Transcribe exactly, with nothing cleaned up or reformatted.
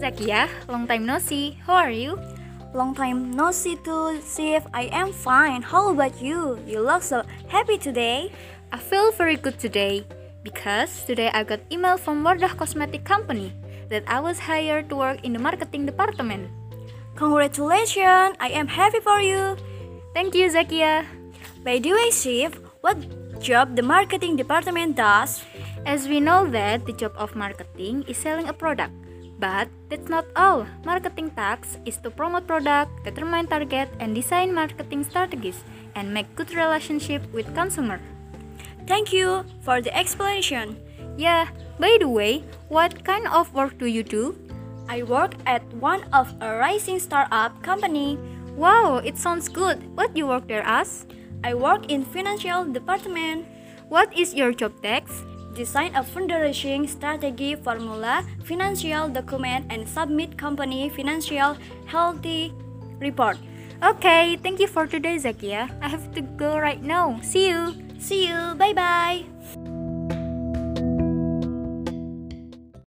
Zakia, long time no see. How are you? Long time no see too, Sif. I am fine. How about you? You look so happy today. I feel very good today because today I got email from Wardah Cosmetic Company that I was hired to work in the marketing department. Congratulations! I am happy for you. Thank you, Zakia. By the way, Sif, what job the marketing department does? As we know that the job of marketing is selling a product, but that's not all. Marketing task is to promote product, determine target, and design marketing strategies, and make good relationship with consumer. Thank you for the explanation. Yeah, by the way, what kind of work do you do? I work at one of a rising startup company. Wow, it sounds good. What you work there as? I work in financial department. What is your job text? Design a fundraising strategy formula, financial document, and submit company financial healthy report. Okay, thank you for today, Zakia. I have to go right now. See you. See you. Bye bye.